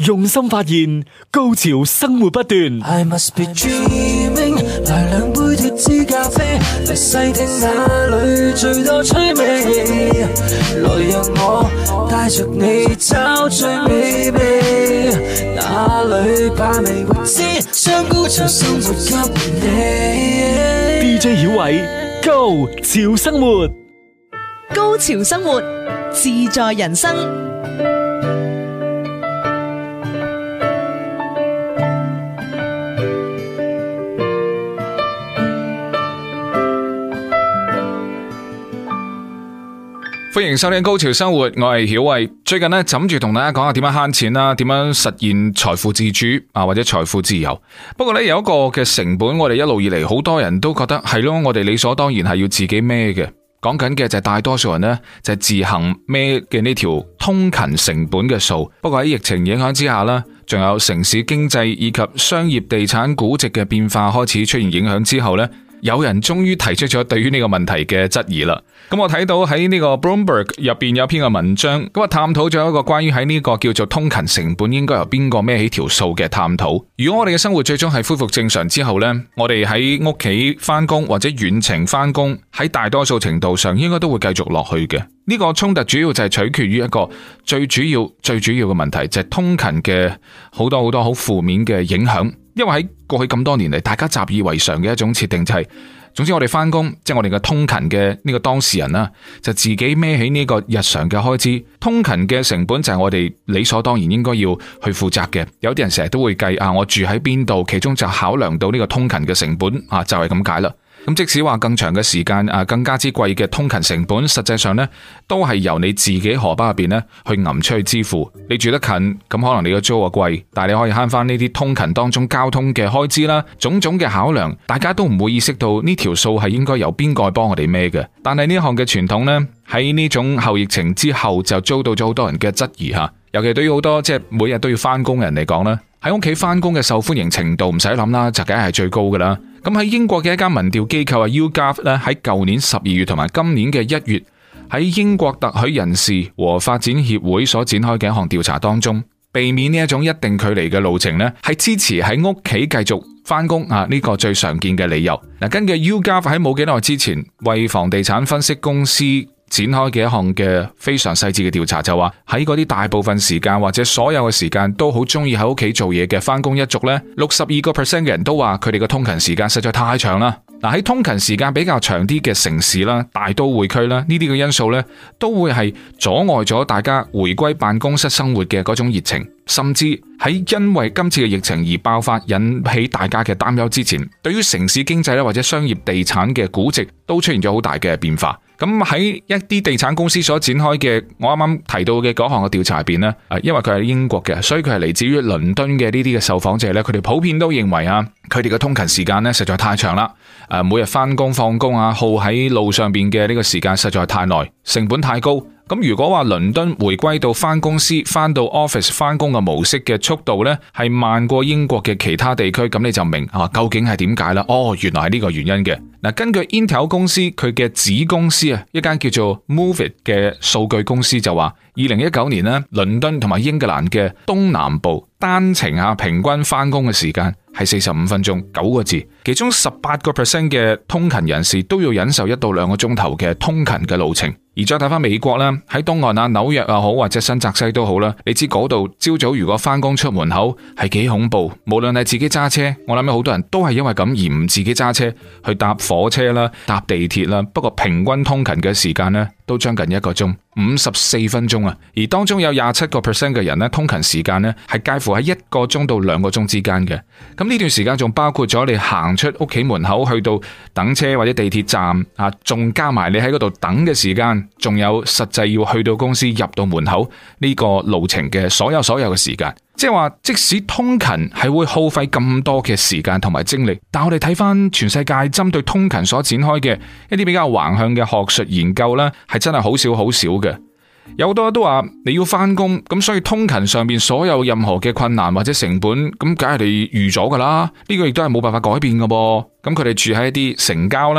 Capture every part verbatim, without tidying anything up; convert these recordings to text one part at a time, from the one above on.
用心發現，高潮生活不斷。 I must be dreaming， 來兩杯脫脂咖啡，嚟細聽哪裏最多趣味，來讓我帶着你找最美味，哪裏把味會知，將高潮生活給你。 D J 曉偉，Go 潮生活， 高潮生活，自在人生。 歡迎收聽高潮生活，我係曉慧。最近呢，枕住同大家講下點樣慳錢啦，點樣實現財富自主啊，或者財富自由。不過呢，有一個嘅成本，我哋一路以嚟好多人都覺得係咯，我哋理所當然係要自己孭嘅。講緊嘅就係大多數人呢，就係自行孭嘅呢條通勤成本嘅數。不過喺疫情影響之下啦，仲有城市經濟以及商業地產估值嘅變化開始出現影響之後呢，有人終於提出咗對於呢個問題嘅質疑啦。咁我睇到喺呢個 Bloomberg 入邊有篇嘅文章，咁啊探討咗一個關於喺呢個叫做通勤成本應該由邊個孭起條數嘅探討。如果我哋嘅生活最終係恢復正常之後呢，我哋喺屋企翻工或者遠程翻工，喺大多數程度上應該都會繼續落去嘅。呢個衝突主要就係取決於一個最主要最主要嘅問題，就係通勤嘅好多好多好負面嘅影響。因為喺過去咁多年嚟，大家習以為常嘅一種設定就係，總之我哋翻工，即係我哋嘅通勤嘅呢個當事人啦，就自己孭起呢個日常嘅開支。通勤嘅成本就係我哋理所當然應該要去負責嘅。有啲人成日都會計啊，我住喺邊度，其中就考量到呢個通勤嘅成本啊，就係咁解啦。咁即使話更長嘅時間啊，更加之貴嘅通勤成本，實際上呢都係由你自己荷包入邊呢去揞出去支付。你住得近，咁可能你嘅租啊貴，但係你可以慳翻呢啲通勤當中交通嘅開支啦，種種嘅考量，大家都唔會意識到呢條數係應該由邊個幫我哋孭嘅。但係呢一項嘅傳統呢，喺呢種後疫情之後就遭到咗好多人嘅質疑吓，尤其對於好多即係每日都要翻工人嚟講啦，喺屋企翻工嘅受歡迎程度唔使諗啦，就梗係最高噶啦。咁喺英國嘅一間民調機構啊 YouGov 咧，喺舊年十二月同埋今年嘅一月，喺英國特許人士和發展協會所展開嘅一項調查當中，避免呢一種一定距離嘅路程呢，係支持喺屋企繼續翻工啊呢個最常見嘅理由。嗱，根據 YouGov 喺冇幾耐之前為房地產分析公司展開嘅一項嘅非常細緻嘅調查，就話喺嗰啲大部分時間或者所有嘅時間都好中意喺屋企做嘢嘅翻工一族呢，六十二個 percent 嘅人都話佢哋嘅通勤時間實在太長啦。嗱，喺通勤時間比較長啲嘅城市啦、大都會區啦，呢啲嘅因素呢都會係阻礙咗大家回歸辦公室生活嘅嗰種熱情，甚至喺因為今次嘅疫情而爆發引起大家嘅擔憂之前，對於城市經濟咧或者商業地產嘅估值都出現咗好大嘅變化。咁喺一啲地產公司所展開嘅我啱啱提到嘅嗰項嘅調查入邊呢，因為佢係英國嘅，所以佢係嚟自於倫敦嘅呢啲嘅受訪者呢，佢哋普遍都認為啊，佢哋嘅通勤時間呢實在太長啦，誒，每日翻工放工啊，耗喺路上邊嘅呢個時間實在太耐，成本太高。咁如果話倫敦回歸到翻公司翻到 office 翻工嘅模式嘅速度呢，係慢過英國嘅其他地區，咁你就明啊究竟係點解啦？哦，原來係呢個原因嘅。嗱，根據 Intel 公司佢嘅子公司啊，一間叫做 Moveit 嘅數據公司就話，二零一九年呢，倫敦同埋英格蘭嘅東南部單程啊平均翻工嘅時間係四十五分鐘，九個字，其中十八個 percent 嘅通勤人士都要忍受一到兩個鐘頭嘅通勤嘅路程。而再睇翻美國啦，喺東岸啊紐約又好或者新澤西都好啦，你知嗰度朝早如果翻工出門口係幾恐怖，無論係自己揸車，我諗有好多人都係因為咁而唔自己揸車去搭火車啦、搭地鐵啦。不過平均通勤嘅時間呢，都將近一個鐘，五十四分鐘啊！而當中有廿七個 percent 嘅人呢，通勤時間呢係介乎喺一個鐘到兩個鐘之間嘅。咁呢段時間仲包括咗你行出屋企門口去到等車或者地鐵站啊，仲加埋你喺嗰度等嘅時間，仲有實際要去到公司入到門口呢個路程嘅所有所有嘅時間。即係話，即使通勤係會耗費咁多嘅時間同埋精力，但我哋睇翻全世界針對通勤所展開嘅一啲比較橫向嘅學術研究呢，係真係好少好少嘅。有好多都話你要翻工，咁所以通勤上面所有任何嘅困難或者成本，咁梗係你預咗噶啦。呢個亦都係冇辦法改變噶噃。咁佢哋住喺一啲城郊啦，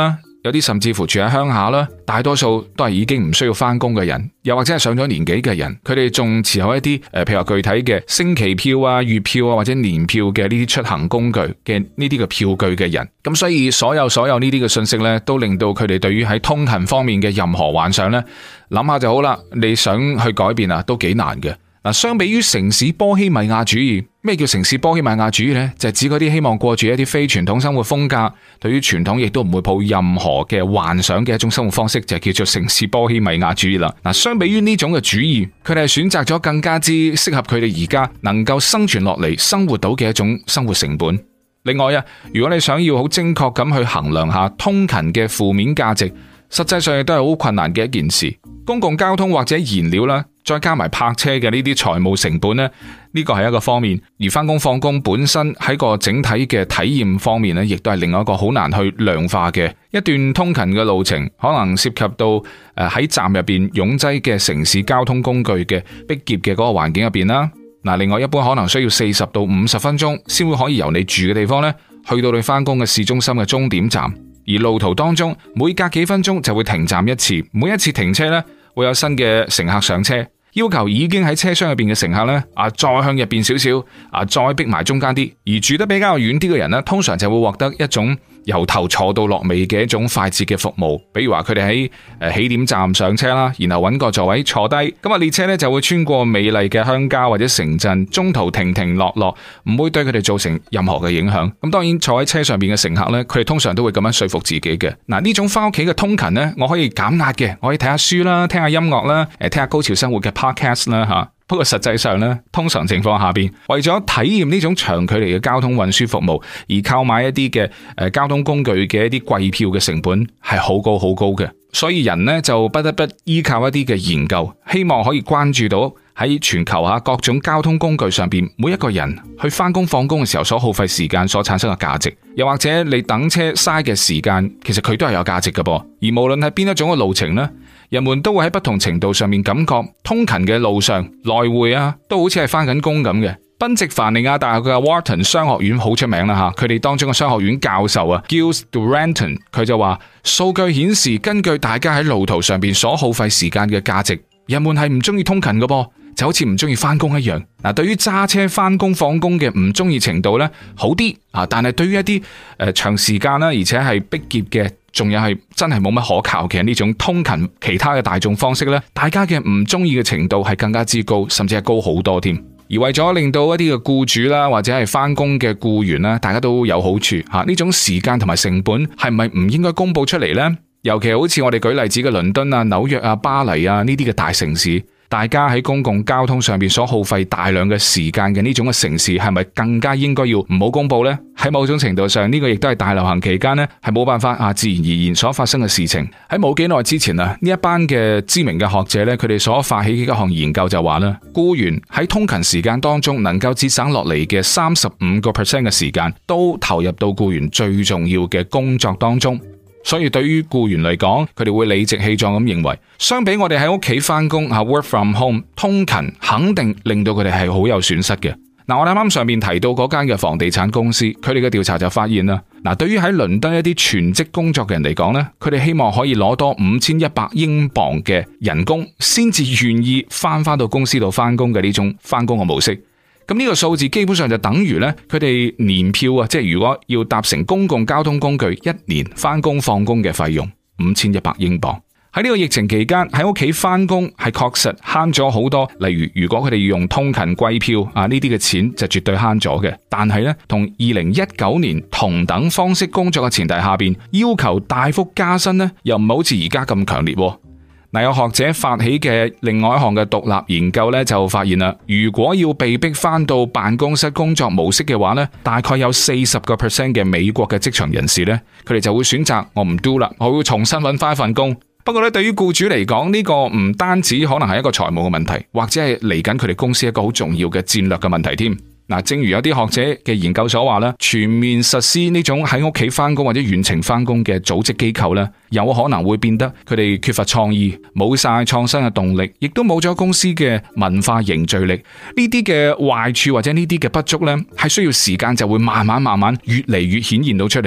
有啲甚至乎住喺鄉下啦，大多數都係已經唔需要翻工嘅人，又或者係上咗年紀嘅人，佢哋仲持有一啲誒，譬如話具體嘅星期票啊、月票啊或者年票嘅呢啲出行工具嘅呢啲嘅票據嘅人。咁所以所有所有呢啲嘅信息呢，都令到佢哋對於喺通勤方面嘅任何幻想呢，諗下就好啦。你想去改變啊，都幾難嘅。嗱，相比於城市波希米亞主義，咩叫城市波希米亞主義呢？就係指嗰啲希望過住一啲非傳統生活風格，對於傳統亦都唔會抱任何嘅幻想嘅一種生活方式，就係叫做城市波希米亞主義啦。嗱，相比於呢種嘅主義，佢哋係選擇咗更加之適合佢哋而家能夠生存落嚟、生活到嘅一種生活成本。另外啊，如果你想要好精確咁去衡量下通勤嘅負面價值，實際上亦都係好困難嘅一件事。公共交通或者燃料啦，再加埋泊車嘅呢啲財務成本呢，呢個係一個方面。而翻工放工本身喺個整體嘅體驗方面呢，亦都係另外一個好難去量化嘅一段通勤嘅路程，可能涉及到誒喺站入邊擁擠嘅城市交通工具嘅逼仄嘅嗰個環境入邊啦。嗱，另外一般可能需要四十到五十分鐘先會可以由你住嘅地方呢去到你翻工嘅市中心嘅終點站。而路途當中每隔幾分鐘就會停站一次，每一次停車呢會有新嘅乘客上車，要求已經喺車廂入邊嘅乘客呢啊再向入邊少少啊再逼埋中間啲，而住得比較遠啲嘅人呢，通常就會獲得一種由頭坐到落尾嘅一種快捷嘅服務。比如話佢哋喺誒起點站上車啦，然後揾個座位坐低，咁啊列車呢就會穿過美麗嘅鄉郊或者城鎮，中途停停落落，唔會對佢哋造成任何嘅影響。咁當然坐喺車上邊嘅乘客呢，佢哋通常都會咁樣說服自己嘅。嗱，呢種翻屋企嘅通勤呢，我可以減壓嘅，我可以睇下書啦，聽下音樂啦，誒聽下高潮生活嘅 podcast 啦吓。不過實際上咧，通常情況下邊，為咗體驗呢種長距離嘅交通運輸服務，而購買一啲嘅誒交通工具嘅一啲貴票嘅成本係好高好高嘅，所以人呢就不得不依靠一啲嘅研究，希望可以關注到喺全球下各種交通工具上邊，每一個人去翻工放工嘅時候所耗費時間所產生嘅價值，又或者你等車嘥嘅時間，其實佢都係有價值嘅噃。而無論係邊一種嘅路程呢，人們都會喺不同程度上面感覺通勤嘅路上來回啊，都好似係翻緊工咁嘅。賓夕凡尼亞大學嘅 Wharton 商學院好出名啦吓，佢哋當中嘅商學院教授啊 Giles Duranton， 佢就話數據顯示，根據大家喺路途上邊所耗費時間嘅價值，人們係唔中意通勤嘅噃，就好似唔中意翻工一樣。嗱，對於揸車翻工放工嘅唔中意程度咧好啲啊，但係對於一啲誒、呃、長時間啦，而且係逼仄嘅，仲有係真係冇乜可靠嘅呢種通勤其他嘅大眾方式咧，大家嘅唔中意嘅程度係更加之高，甚至係高好多添。而為咗令到一啲嘅僱主啦，或者係翻工嘅僱員啦，大家都有好處吓，呢種時間同埋成本係咪唔應該公布出嚟呢？尤其好似我哋舉例子嘅倫敦啊、紐約啊、巴黎啊呢啲嘅大城市，大家喺公共交通上邊所耗費大量嘅時間嘅呢種嘅城市，係咪更加應該要唔好公布呢？喺某種程度上，呢個亦都係大流行期間呢係冇辦法啊自然而然所發生嘅事情。喺冇幾耐之前啊，呢一班嘅知名嘅學者呢，佢哋所發起嘅一項研究就話啦，僱員喺通勤時間當中能夠節省落嚟嘅三十五個 percent 嘅時間，都投入到僱員最重要嘅工作當中。所以對於僱員嚟講，佢哋會理直氣壯咁認為，相比我哋喺屋企翻工啊 work from home， 通勤肯定令到佢哋係好有損失嘅。嗱，我哋啱啱上面提到嗰間嘅房地產公司，佢哋嘅調查就發現啦，嗱，對於喺倫敦一啲全職工作嘅人嚟講呢，佢哋希望可以攞多五千一百英鎊嘅人工，先至願意翻翻到公司度翻工嘅呢種翻工嘅模式。咁呢個數字基本上就等於咧，佢哋年票啊，即係如果要搭乘公共交通工具一年翻工放工嘅費用五千一百英鎊。喺呢個疫情期間喺屋企翻工係確實慳咗好多，例如如果佢哋要用通勤貴票啊，呢啲嘅錢就絕對慳咗嘅。但係咧，同二零一九年同等方式工作嘅前提下邊，要求大幅加薪咧，又唔係好似而家咁強烈。嗱，有學者發起嘅另外一項嘅獨立研究咧，就發現啦，如果要被逼翻到辦公室工作模式嘅話咧，大概有四十個 percent 嘅美國嘅職場人士咧，佢哋就會選擇我唔 do 啦，我會重新揾翻一份工。不過咧，對於僱主嚟講，呢個唔單止可能係一個財務嘅問題，或者係嚟緊佢哋公司一個好重要嘅戰略嘅問題添。嗱，正如有啲學者嘅研究所話咧，全面實施呢種喺屋企翻工或者遠程翻工嘅組織機構咧，有可能會變得佢哋缺乏創意，冇晒創新嘅動力，亦都冇咗公司嘅文化凝聚力。呢啲嘅壞處或者呢啲嘅不足咧，係需要時間就會慢慢慢慢越嚟越顯現到出嚟嘅。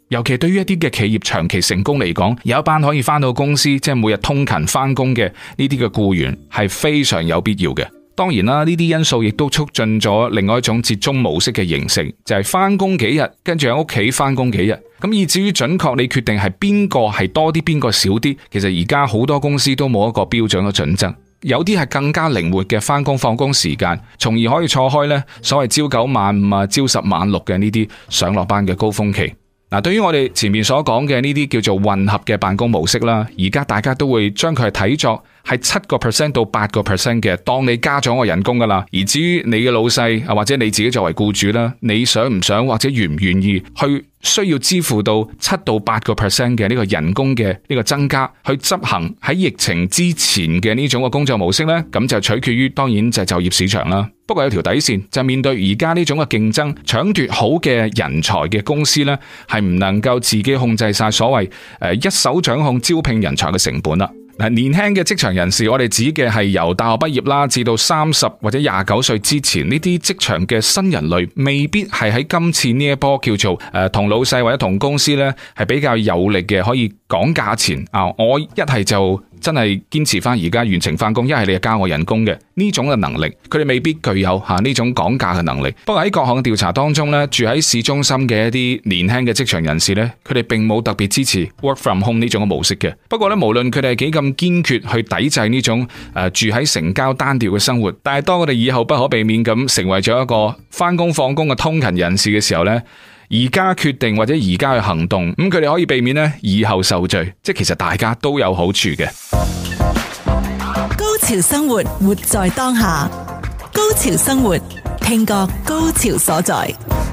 尤其對於一啲嘅企業長期成功嚟講，有一班可以翻到公司，即係每日通勤翻工嘅呢啲嘅僱員係非常有必要嘅。當然啦，呢啲因素亦都促進咗另外一種折中模式嘅形成，就係翻工幾日，跟住喺屋企翻工幾日。咁以至於準確你決定係邊個係多啲，邊個少啲，其實而家好多公司都冇一個標準嘅準則。有啲係更加靈活嘅翻工放工時間，從而可以錯開呢所謂朝九晚五啊、朝十晚六嘅呢啲上落班嘅高峰期。嗱，對於我哋前面所講嘅呢啲叫做混合嘅辦公模式啦，而家大家都會將佢係睇作係七個 percent 到八個 percent 嘅，當你加咗我人工噶啦。而至於你嘅老細啊，或者你自己作為僱主啦，你想唔想或者願唔願意去需要支付到七到八個 percent 嘅呢個人工嘅呢個增加，去執行喺疫情之前嘅呢種嘅工作模式呢？咁就取決於當然就係就業市場啦。不過有條底線，就係面對而家呢種嘅競爭，搶奪好嘅人才嘅公司呢，係唔能夠自己控制晒所謂誒一手掌控招聘人才嘅成本啦。嗱，年輕嘅職場人士，我哋指嘅係由大學畢業啦，至到三十或者廿九歲之前呢啲職場嘅新人類，未必係喺今次呢一波叫做誒同老細或者同公司呢係比較有力嘅，可以講價錢啊！我一係就真係堅持翻而家完成翻工，一係你就加我人工嘅呢種嘅能力，佢哋未必具有吓呢種講價嘅能力。不過喺各項調查當中呢，住喺市中心嘅一啲年輕嘅職場人士呢，佢哋並冇特別支持 work from home 呢種嘅模式嘅。不過呢，無論佢哋係幾咁堅決去抵制呢種誒、呃、住喺城郊單調嘅生活，但係當我哋以後不可避免咁成為咗一個翻工放工嘅通勤人士嘅時候呢，而家決定或者而家去行動，咁佢哋可以避免呢以後受罪，即係其實大家都有好處嘅。 高潮生活，活在當下。高潮生活，聽覺高潮所在。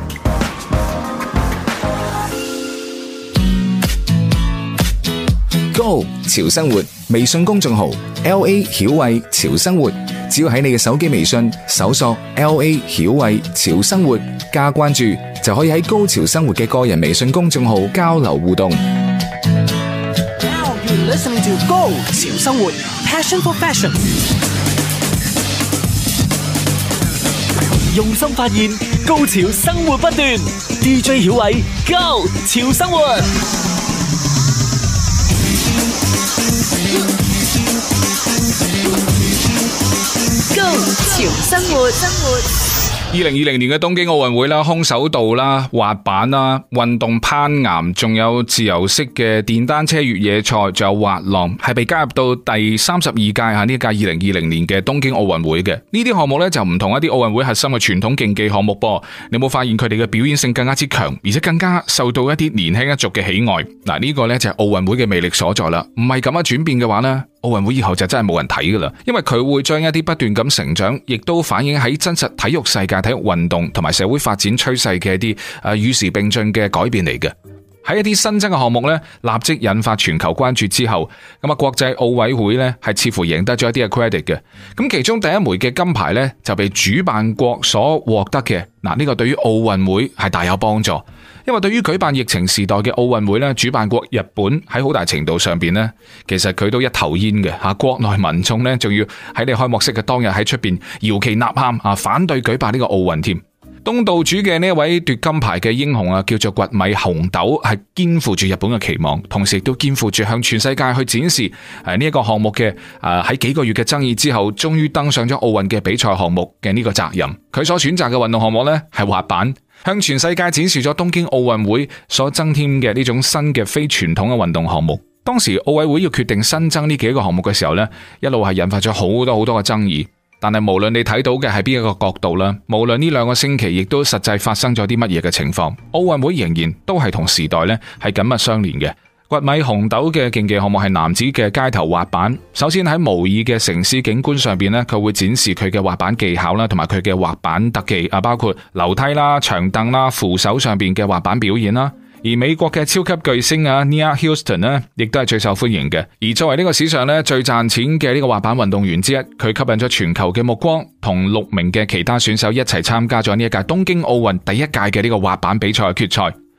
Go 潮生活微信公眾號 L A 曉慧潮生活，只要喺你嘅手機微信搜索 L A 曉慧潮生活加關注，就可以喺高潮生活嘅個人微信公眾號交流互動。 Now you're listening to Go 潮生活 Passion for Fashion。 用心發現，高潮生活不斷。D J 曉偉，Go 潮生活。 高潮生活，生活。 二零二零年嘅東京奧運會啦，空手道啦、滑板啦、運動攀岩，仲有自由式嘅電單車越野賽，仲有滑浪，係被加入到第三十二屆吓呢屆二零二零年嘅東京奧運會嘅。呢啲項目呢，就唔同一啲奧運會核心嘅傳統競技項目噃。你有冇發現佢哋嘅表演性更加之強，而且更加受到一啲年輕一族嘅喜愛？嗱，呢個呢，就係奧運會嘅魅力所在啦。唔係咁樣轉變嘅話呢，奧運會以後就真係冇人睇噶啦，因為佢會將一啲不斷咁成長，亦都反映喺真實體育世界、體育運動同埋社會發展趨勢嘅一啲誒與時並進嘅改變嚟嘅。喺一啲新增嘅項目呢，立即引發全球關注之後，咁啊國際奧委會呢係似乎贏得咗一啲嘅 credit 嘅。咁其中第一枚嘅金牌呢，就被主辦國所獲得嘅。嗱，呢個對於奧運會係大有幫助。因為對於舉辦疫情時代嘅奧運會咧，主辦國日本喺好大程度上邊咧，其實佢都一頭煙嘅吓，國內民眾咧仲要喺你開幕式嘅當日喺出邊搖旗吶喊啊，反對舉辦呢個奧運添。東道主嘅呢一位奪金牌嘅英雄啊，叫做堀米雄斗，係肩負住日本嘅期望，同時亦都肩負住向全世界去展示誒呢一個項目嘅誒喺幾個月嘅爭議之後，終於登上咗奧運嘅比賽項目嘅呢個責任。佢所選擇嘅運動項目呢，係滑板，向全世界展示咗東京奧運會所增添嘅呢種新嘅非傳統嘅運動項目。當時奧委會要決定新增呢幾個項目嘅時候呢，一路係引發咗好多好多嘅爭議。但係無論你睇到嘅係邊一個角度啦，無論呢兩個星期亦都實際發生咗啲乜嘢嘅情況，奧運會仍然都係同時代呢係緊密相連嘅。堀米雄斗嘅競技項目係男子嘅街頭滑板。首先喺模擬嘅城市景觀上邊呢，佢會展示佢嘅滑板技巧啦，同埋佢嘅滑板特技啊，包括樓梯啦、長凳啦、扶手上邊嘅滑板表演啦。而美國嘅超級巨星啊 Nia Houston 呢，亦都係最受歡迎嘅。而作為呢個史上呢最賺錢嘅呢個滑板運動員之一，佢吸引咗全球嘅目光，同六名嘅其他選手一齊參加咗呢一屆東京奧運第一屆嘅呢個滑板比賽嘅決賽。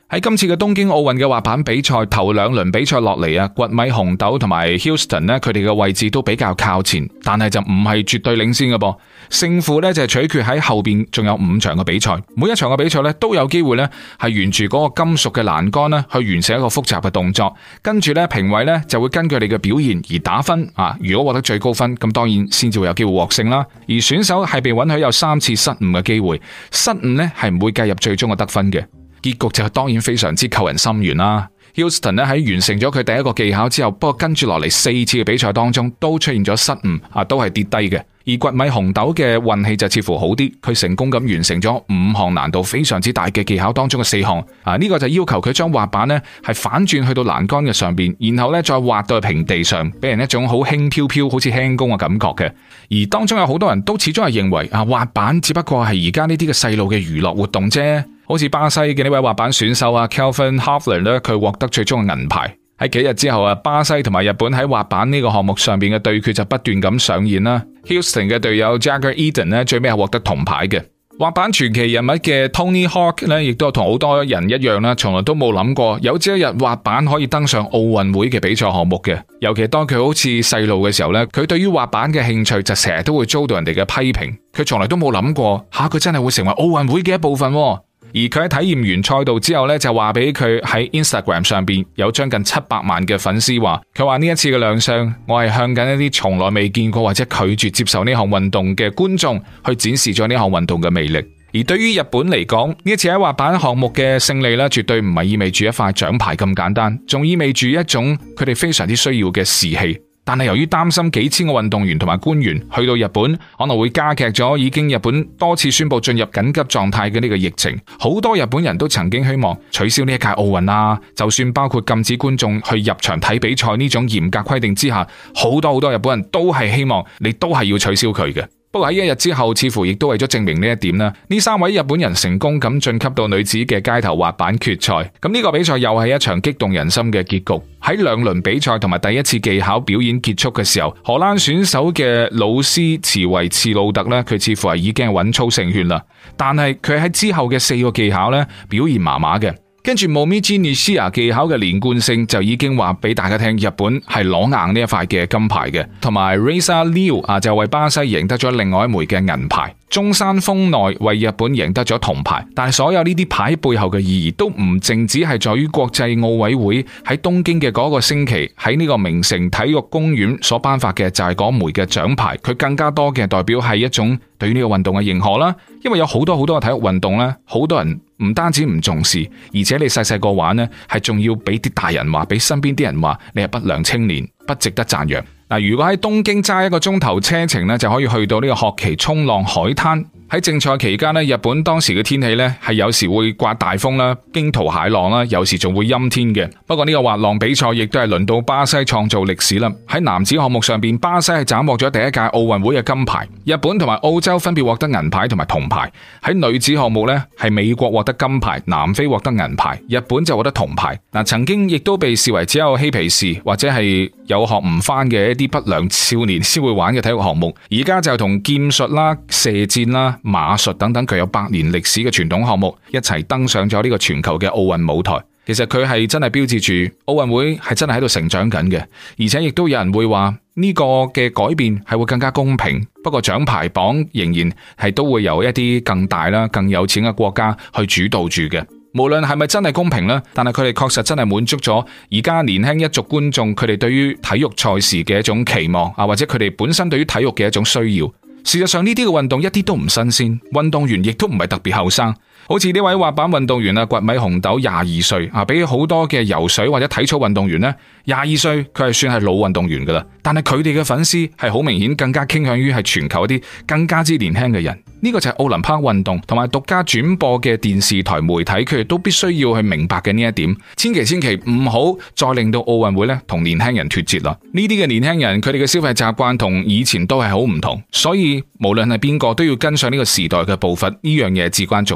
喺今次嘅東京奧運嘅滑板比賽頭兩輪比賽落嚟啊，掘米紅豆同埋 Houston 呢，佢哋嘅位置都比較靠前，但係就唔係絕對領先嘅噃。勝負呢就係取決喺後邊仲有五場嘅比賽，每一場嘅比賽呢都有機會呢係沿住嗰個金屬嘅欄杆呢去完成一個複雜嘅動作，跟住呢評委呢就會根據你嘅表現而打分啊。如果獲得最高分，咁當然先至會有機會獲勝啦。而選手係被允許有三次失誤嘅機會，失誤呢係唔會計入最終嘅得分嘅。結局就當然非常之扣人心弦啦。Houston 咧喺完成咗佢第一個技巧之後，不過跟住落嚟四次嘅比賽當中都出現咗失誤啊，都係跌低嘅。而掘米紅豆嘅運氣就似乎好啲，佢成功咁完成咗五項難度非常之大嘅技巧當中嘅四項啊，呢個就要求佢將滑板呢係反轉去到欄杆嘅上邊，然後呢再滑到去平地上，俾人一種好輕飄飄好似輕功嘅感覺嘅。而當中有好多人都始終係認為啊，滑板只不過係而家呢啲嘅細路嘅娛樂活動啫。好似巴西嘅呢位滑板選手啊 Kelvin Hoefler 咧，佢獲得最終嘅銀牌。喺幾日之後啊，巴西同埋日本喺滑板呢個項目上邊嘅對決就不斷咁上演啦。Houston 嘅隊友 Jagger Eden 咧，最尾係獲得銅牌嘅。滑板傳奇人物嘅 Tony Hawk 咧，亦都同好多人一樣啦，從來都冇諗過有朝一日滑板可以登上奧運會嘅比賽項目嘅。尤其當佢好似細路嘅時候咧，佢對於滑板嘅興趣就成日都會遭到人哋嘅批評。佢從來都冇諗過吓，佢真係會成為奧運會嘅一部分。而佢喺體驗完賽道之後咧，就話俾佢喺 Instagram 上邊有將近七百萬嘅粉絲話，佢話呢一次嘅亮相，我係向緊一啲從來未見過或者拒絕接受呢項運動嘅觀眾去展示咗呢項運動嘅魅力。而對於日本嚟講，呢一次喺滑板項目嘅勝利咧，絕對唔係意味住一塊獎牌咁簡單，仲意味住一種佢哋非常之需要嘅士氣。但係由於擔心幾千個運動員同埋官員去到日本可能會加劇咗已經日本多次宣布進入緊急狀態嘅呢個疫情，好多日本人都曾經希望取消呢一屆奧運啊，就算包括禁止觀眾去入場睇比賽呢種嚴格規定之下，好多好多日本人都係希望你都係要取消佢嘅。不過喺一日之後，似乎亦都為咗證明呢一點啦，呢三位日本人成功咁晉級到女子嘅街頭滑板決賽。咁呢個比賽又係一場激動人心嘅結局。喺兩輪比賽同埋第一次技巧表演結束嘅時候，荷蘭選手嘅魯斯茨維茨魯特呢，佢似乎係已經係穩操勝券啦。但係佢喺之後嘅四個技巧呢，表現麻麻嘅。跟住 Momiji Nishida 技巧嘅連貫性就已經話俾大家聽，日本係攞硬呢一塊嘅金牌嘅，同埋 Reza Liu 啊就為巴西贏得咗另外一枚嘅銀牌。中山豐內為日本贏得咗銅牌，但係所有呢啲牌背後嘅意義都唔淨止係在於國際奧委會喺東京嘅嗰個星期喺呢個名城體育公園所頒發嘅就係嗰枚嘅獎牌，佢更加多嘅代表係一種對於呢個運動嘅認可啦。因為有好多好多嘅體育運動呢，好多人唔單止唔重視，而且你細細個玩呢，係仲要俾啲大人話，俾身邊啲人話你係不良青年，不值得讚揚。嗱，如果喺東京揸一個鐘頭車程呢，就可以去到呢個學期衝浪海灘。喺競賽期間呢，日本當時嘅天氣呢係有時會颳大風啦、驚濤駭浪啦，有時仲會陰天嘅。不過呢個滑浪比賽亦都係輪到巴西創造歷史啦。喺男子項目上邊，巴西係斬獲咗第一屆奧運會嘅金牌，日本同埋澳洲分別獲得銀牌同埋銅牌。喺女子項目呢，係美國獲得金牌，南非獲得銀牌，日本就獲得銅牌。嗱，曾經亦都被視為只有嬉皮士或者係有學唔返嘅一啲不良少年先會玩嘅體育項目，而家就同劍術啦、射箭啦、馬術等等具有百年歷史嘅傳統項目一齊登上咗呢個全球嘅奧運舞台。其實佢係真係標誌住奧運會係真係喺度成長緊嘅，而且亦都有人會話呢個嘅改變係會更加公平。不過獎牌榜仍然係都會由一啲更大啦、更有錢嘅國家去主導住嘅。無論係咪真係公平呢，但係佢哋確實真係滿足咗而家年輕一族觀眾佢哋對於體育賽事嘅一種期望啊，或者佢哋本身對於體育嘅一種需要。事實上呢啲嘅運動一啲都唔新鮮，運動員亦都唔係特別後生。好似呢位滑板運動員啊，掘米紅豆廿二歲啊，比好多嘅游水或者體操運動員呢，廿二歲佢係算係老運動員噶啦。但係佢哋嘅粉絲係好明顯更加傾向於係全球一啲更加之年輕嘅人。呢個就係奧林匹克運動同埋獨家轉播嘅電視台媒體，佢哋都必須要去明白嘅呢一點。千祈千祈唔好再令到奧運會咧同年輕人脫節啦。呢啲嘅年輕人佢哋嘅消費習慣同以前都係好唔同，所以無論係邊個都要跟上呢個時代嘅步伐，呢樣嘢至關重要。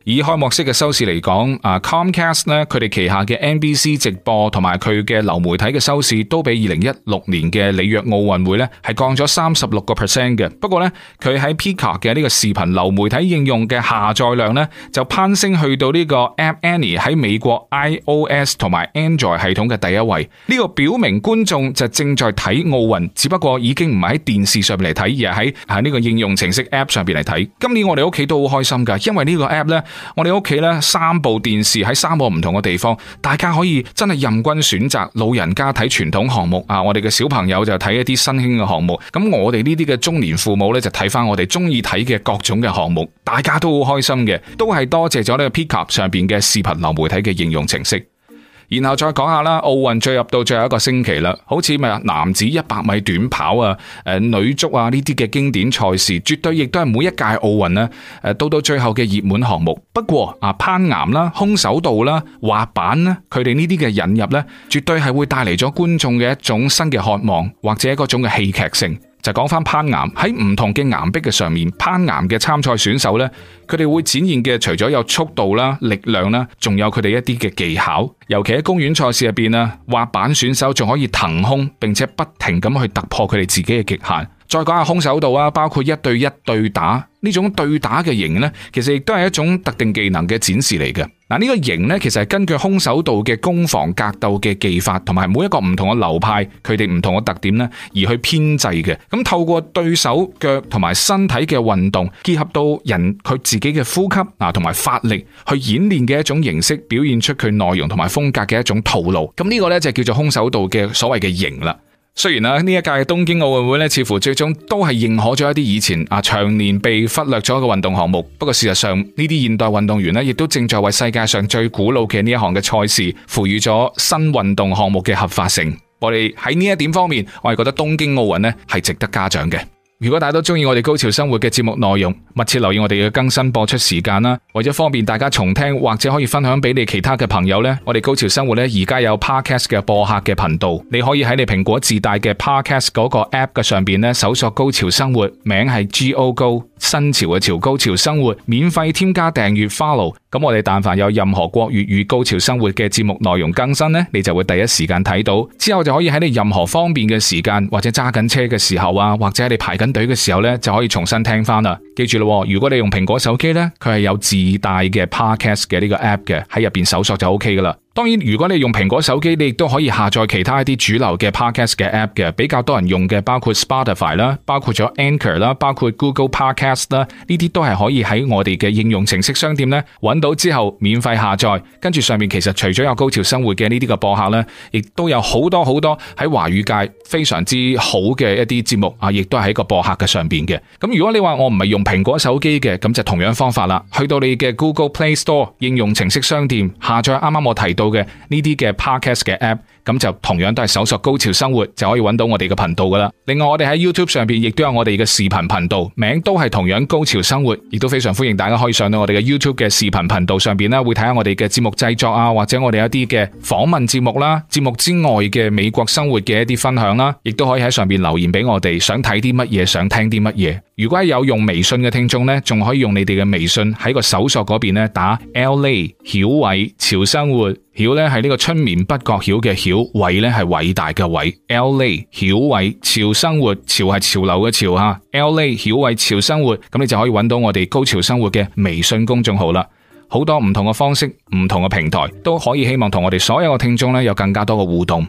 以開幕式嘅收視嚟講，啊 Comcast 咧，佢哋旗下嘅 N B C 直播同埋佢嘅流媒體嘅收視都比二零一六年嘅里約奧運會咧係降咗三十六個 percent 嘅。不過咧，佢喺 Peacock 嘅呢個視頻流媒體應用嘅下載量咧就攀升去到呢個 App Annie 喺美國 iOS 同埋 Android 系統嘅第一位。呢個表明觀眾就正在睇奧運，只不過已經唔係喺電視上面嚟睇，而係喺喺呢個應用程式 App 上邊嚟睇。今年我哋屋企都好開心噶，因為呢個 App 咧。我哋屋企咧三部電視喺三個唔同嘅地方，大家可以真係任君選擇。老人家睇傳統項目啊，我哋嘅小朋友就睇一啲新興嘅項目。咁我哋呢啲嘅中年父母咧就睇翻我哋中意睇嘅各種嘅項目，大家都好開心嘅，都係多謝咗呢個 Peacock 上邊嘅視頻流媒體嘅應用程式。然後再講下啦，奧運進入到最後一個星期啦，好似咪男子一百米短跑啊、誒女足啊呢啲嘅經典賽事，絕對亦都係每一屆奧運咧誒到到最後嘅熱門項目。不過啊，攀岩啦、空手道啦、滑板啦，佢哋呢啲嘅引入咧，絕對係會帶嚟咗觀眾嘅一種新嘅渴望，或者嗰種嘅戲劇性。就講翻攀岩，喺唔同嘅岩壁嘅上面，攀岩嘅參賽選手呢，佢哋會展現嘅除咗有速度啦、力量啦，仲有佢哋一啲嘅技巧。尤其喺公園賽事入邊啊，滑板選手仲可以騰空，並且不停咁去突破佢哋自己嘅極限。再講下空手道啊，包括一對一對打呢種對打嘅型呢，其實亦都係一種特定技能嘅展示嚟嘅。嗱，呢個型呢，其實係根據空手道嘅攻防格鬥嘅技法，同埋每一個唔同嘅流派，佢哋唔同嘅特點呢，而去編製嘅。咁透過對手腳同埋身體嘅運動，結合到人佢自己嘅呼吸啊，同埋發力去演練嘅一種形式，表現出佢內容同埋風格嘅一種套路。咁呢個呢，就叫做空手道嘅所謂嘅型啦。雖然啊，呢一屆嘅東京奧運會咧，似乎最終都係認可咗一啲以前啊長年被忽略咗嘅運動項目。不過事實上，呢啲現代運動員咧，亦都正在為世界上最古老嘅呢一項嘅賽事，賦予咗新運動項目嘅合法性。我哋喺呢一點方面，我係覺得東京奧運咧係值得嘉獎嘅。如果大家都中意我哋高潮生活嘅節目內容，密切留意我哋嘅更新播出時間啦。為咗方便大家重聽或者可以分享俾你其他嘅朋友呢，我哋高潮生活呢而家有 Podcast 嘅播客嘅頻道，你可以喺你蘋果自帶嘅 Podcast 嗰個 App 嘅上邊呢搜索高潮生活，名係 G O Go 新潮嘅潮，高潮生活，免費添加訂閱 follow。咁我哋但凡有任何國粵語高潮生活嘅節目內容更新呢，你就會第一時間睇到，之後就可以喺你任何方便嘅時間，或者揸緊車嘅時候啊，或者喺你排緊隊嘅時候呢，就可以重新聽翻啦。記住咯，如果你用蘋果手機呢，佢係有自帶嘅 Podcast 嘅呢個 App 嘅，喺入邊搜索就 OK 噶啦。當然，如果你用蘋果手機，你亦都可以下載其他一啲主流嘅 Podcast 嘅 App 嘅，比較多人用嘅包括 Spotify 啦，包括咗 Anchor 啦，包括 Google Podcast 啦，呢啲都係可以喺我哋嘅應用程式商店呢揾到之後免費下載。跟住上面其實除咗有高潮生活嘅呢啲嘅播客呢，亦都有好多好多喺華語界非常之好嘅一啲節目啊，亦都係喺個播客嘅上邊嘅。咁如果你話我唔係用蘋果手機嘅，咁就同樣方法啦，去到你嘅 Google Play Store 應用程式商店下載啱啱我提到嘅呢啲嘅 Podcast 嘅 App， 咁就同樣都係搜索高潮生活就可以揾到我哋嘅頻道噶啦。另外我哋喺 YouTube 上邊亦都有我哋嘅視頻頻道，名都係同樣高潮生活，亦都非常歡迎大家可以上到我哋嘅 YouTube 嘅視頻頻道上邊啦，會睇下我哋嘅節目製作啊，或者我哋一啲嘅訪問節目啦，節目之外嘅美國生活嘅一啲分享啦，亦都可以喺上邊留言俾我哋，想睇啲乜嘢，想聽啲乜嘢。如果係有用微信嘅聽眾呢，仲可以用你哋嘅微信喺個搜索嗰邊呢打 L A 曉偉潮生活，曉呢係呢個春眠不覺曉嘅曉，偉呢係偉大嘅偉 ，L A 曉偉潮生活，潮係潮流嘅潮吓 ，L A 曉偉潮生活，咁你就可以揾到我哋高潮生活嘅微信公眾號啦。好多唔同嘅方式，唔同嘅平台都可以，希望同我哋所有嘅聽眾呢有更加多嘅互動。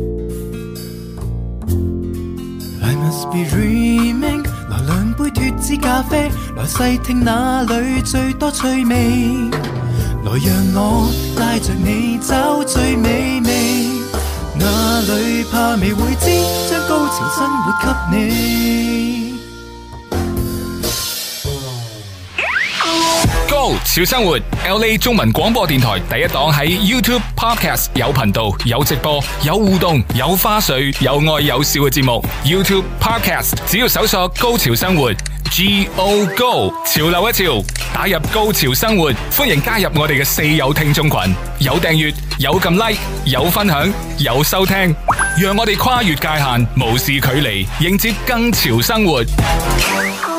I must be dreaming， 來兩杯脫脂咖啡，來細聽哪裏最多趣味，來讓我帶着你找最美味，哪裏怕未會知，將高潮生活給你。 高潮生活 L A 中文廣播電台第一檔，喺 YouTube Podcast 有頻道、有直播、有互動、有花絮、有愛有笑嘅節目。YouTube Podcast 只要搜索高潮生活 G O Go 潮流一潮，打入高潮生活，歡迎加入我哋嘅四友聽眾群，有訂閱、有撳 like、有分享、有收聽，讓我哋跨越界限，無視距離，迎接更潮生活。